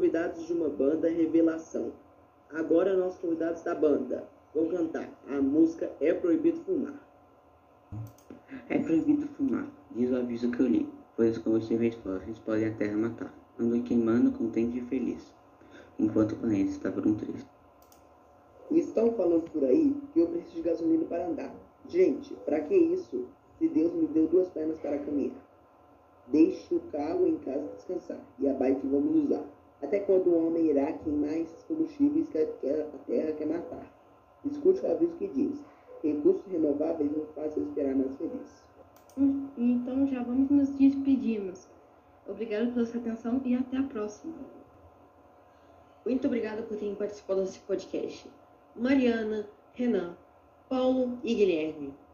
convidados de uma banda Revelação. Agora nossos convidados da banda vão cantar. A música É Proibido Fumar. É proibido fumar, diz o aviso que eu li, pois os combustíveis fósseis podem a terra matar. Ando queimando contente e feliz, enquanto o planeta está por um triz. Estão falando por aí que eu preciso de gasolina para andar. Gente, para que isso, se Deus me deu 2 pernas para caminhar? Deixe o carro em casa descansar, e a bike vamos usar. Até quando o homem irá queimar esses combustíveis que a terra quer matar? Escute o aviso que diz: recursos renováveis não fazem esperar mais feliz. Então já vamos nos despedirmos. Obrigado pela sua atenção e até a próxima. Muito obrigada por terem participado desse podcast. Mariana, Renan, Paulo e Guilherme.